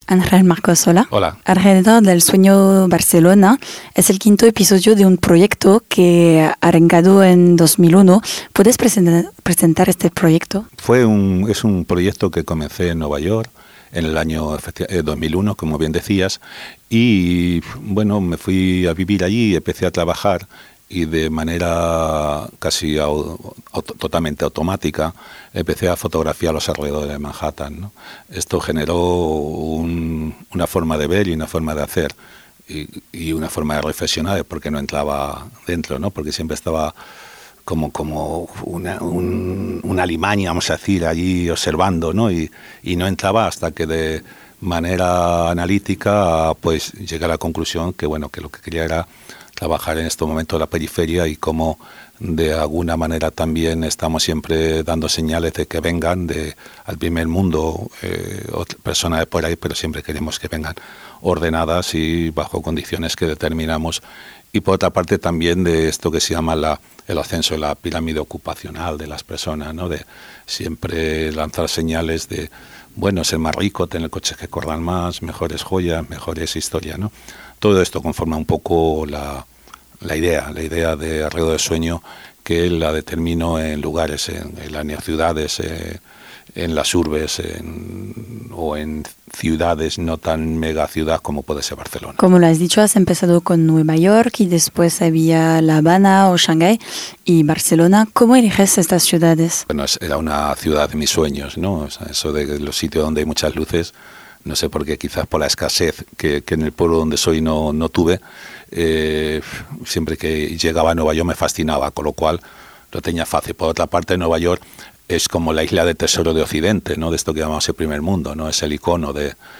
Ángel Marcos, hola. Hola. Alrededor del Sueño Barcelona es el quinto episodio de un proyecto que arrancado en 2001. ¿Puedes presentar este proyecto? Es un proyecto que comencé en Nueva York en el año 2001, como bien decías, y bueno, me fui a vivir allí, empecé a trabajar y de manera casi totalmente automática empecé a fotografiar los alrededores de Manhattan, ¿no? Esto generó una forma de ver y una forma de hacer y una forma de reflexionar, porque no entraba dentro, ¿no? Porque siempre estaba como una alimaña, vamos a decir, allí observando, ¿no? Y no entraba hasta que de manera analítica pues llegué a la conclusión que bueno, que lo que quería era trabajar en este momento en la periferia y cómo de alguna manera también estamos siempre dando señales de que vengan al primer mundo personas de por ahí, pero siempre queremos que vengan ordenadas y bajo condiciones que determinamos. Y por otra parte también de esto que se llama el ascenso de la pirámide ocupacional de las personas, ¿no? De siempre lanzar señales de, bueno, ser más rico, tener coches que corran más, mejores joyas, mejores historias, ¿no? Todo esto conforma un poco la idea de Alrededor del Sueño, que la determino en lugares, en las ciudades, en las urbes o en ciudades no tan megaciudad como puede ser Barcelona. Como lo has dicho, has empezado con Nueva York y después había La Habana o Shanghái y Barcelona. ¿Cómo eliges estas ciudades? Bueno, era una ciudad de mis sueños, ¿no? O sea, eso de los sitios donde hay muchas luces, no sé por qué, quizás por la escasez que en el pueblo donde soy no tuve. Siempre que llegaba a Nueva York me fascinaba, con lo cual lo tenía fácil. Por otra parte, Nueva York es como la isla de tesoro de Occidente, ¿no? De esto que llamamos el primer mundo, ¿no? Es el icono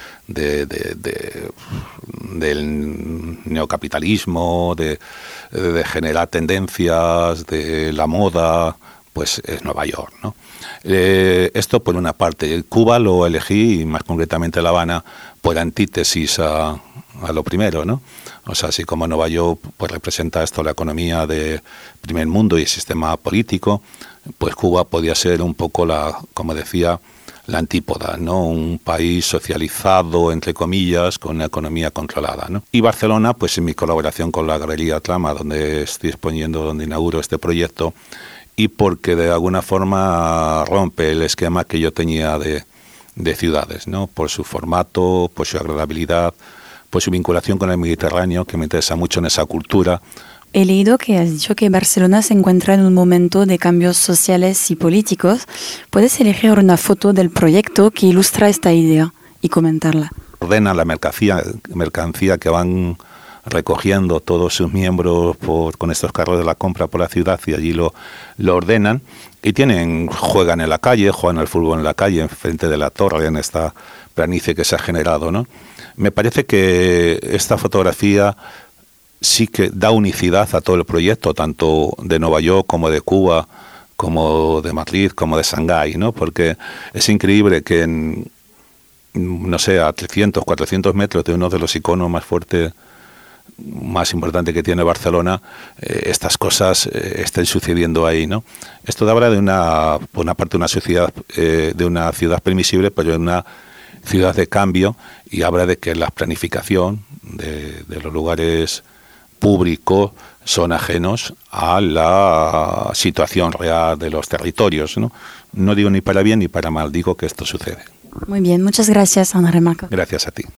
del neocapitalismo, de generar tendencias, de la moda, pues es Nueva York, ¿no? Esto por una parte. Cuba lo elegí, y más concretamente La Habana, por antítesis a lo primero, ¿no? O sea, así como Nueva York pues representa esto, la economía de primer mundo y el sistema político, pues Cuba podía ser un poco como decía, la antípoda, ¿no? Un país socializado, entre comillas, con una economía controlada, ¿no? Y Barcelona, pues en mi colaboración con la Galería Trama, donde donde inauguro este proyecto, y porque de alguna forma rompe el esquema que yo tenía de ciudades, ¿no? Por su formato, por su agradabilidad, por su vinculación con el Mediterráneo, que me interesa mucho en esa cultura. He leído que has dicho que Barcelona se encuentra en un momento de cambios sociales y políticos. ¿Puedes elegir una foto del proyecto que ilustra esta idea y comentarla? Ordena la mercancía que van recogiendo todos sus miembros con estos carros de la compra por la ciudad, y allí lo ordenan y juegan en la calle, juegan al fútbol en la calle, enfrente de la torre, en esta planicie que se ha generado, ¿no? Me parece que esta fotografía sí que da unicidad a todo el proyecto, tanto de Nueva York como de Cuba, como de Madrid, como de Shanghái, ¿no? Porque es increíble que no sé, a 300, 400 metros de uno de los iconos más fuertes, más importante que tiene Barcelona, estas cosas estén sucediendo ahí, ¿no? Esto habla por una parte, una sociedad, de una ciudad permisible, pero de una ciudad de cambio, y habla de que la planificación de los lugares públicos son ajenos a la situación real de los territorios, ¿no? No digo ni para bien ni para mal, digo que esto sucede. Muy bien, muchas gracias, Ángel Marcos. Gracias a ti.